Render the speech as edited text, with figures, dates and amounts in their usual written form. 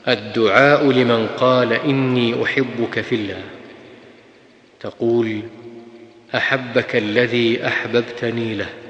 الدعاء لمن قال إني أحبك في الله. تقول: أحبك الذي أحببتني له.